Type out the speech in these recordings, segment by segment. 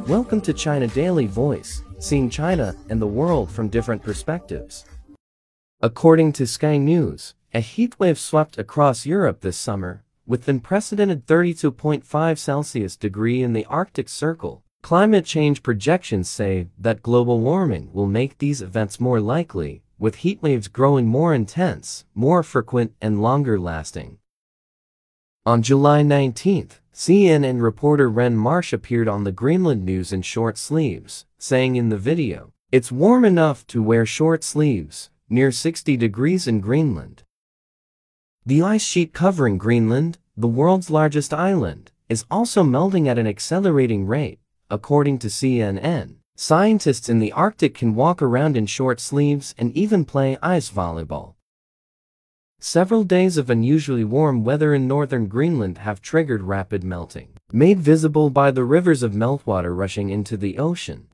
Welcome to China Daily Voice, seeing China and the world from different perspectives. According to Sky News, a heatwave swept across Europe this summer, with unprecedented 32.5 Celsius degree in the Arctic Circle. Climate change projections say that global warming will make these events more likely, with heatwaves growing more intense, more frequent, and longer lasting. On July 19, CNN reporter Ren Marsh appeared on the Greenland News in short sleeves, saying in the video, "It's warm enough to wear short sleeves, near 60 degrees in Greenland." The ice sheet covering Greenland, the world's largest island, is also melting at an accelerating rate, according to CNN. Scientists in the Arctic can walk around in short sleeves and even play ice volleyball. Several days of unusually warm weather in northern Greenland have triggered rapid melting, made visible by the rivers of meltwater rushing into the ocean.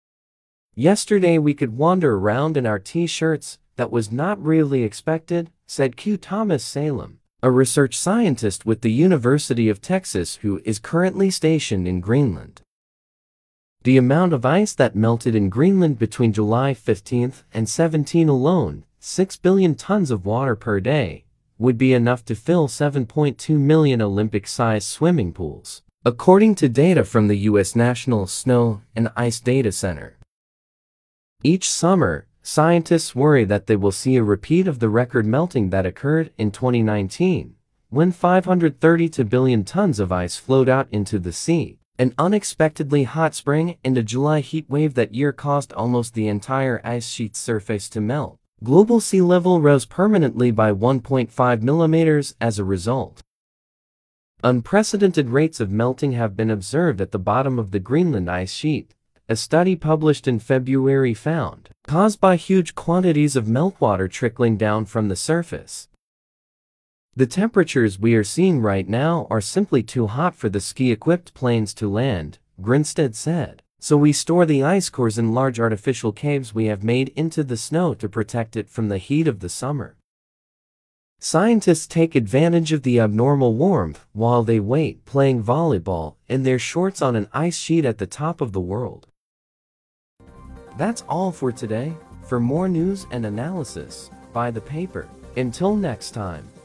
"Yesterday we could wander around in our t-shirts. That was not really expected," said Q. Thomas Salem, a research scientist with the University of Texas who is currently stationed in Greenland. The amount of ice that melted in Greenland between July 15 and 17 alone, 6 billion tons of water per day, would be enough to fill 7.2 million Olympic-sized swimming pools, according to data from the U.S. National Snow and Ice Data Center. Each summer, scientists worry that they will see a repeat of the record melting that occurred in 2019, when 532 billion tons of ice flowed out into the sea. An unexpectedly hot spring and a July heat wave that year caused almost the entire ice sheet's surface to melt. Global sea level rose permanently by 1.5 millimeters as a result. Unprecedented rates of melting have been observed at the bottom of the Greenland ice sheet, a study published in February found, caused by huge quantities of meltwater trickling down from the surface. "The temperatures we are seeing right now are simply too hot for the ski-equipped planes to land," Grinstead said. "So we store the ice cores in large artificial caves we have made into the snow to protect it from the heat of the summer." Scientists take advantage of the abnormal warmth while they wait, playing volleyball in their shorts on an ice sheet at the top of the world. That's all for today. For more news and analysis, buy the paper. Until next time.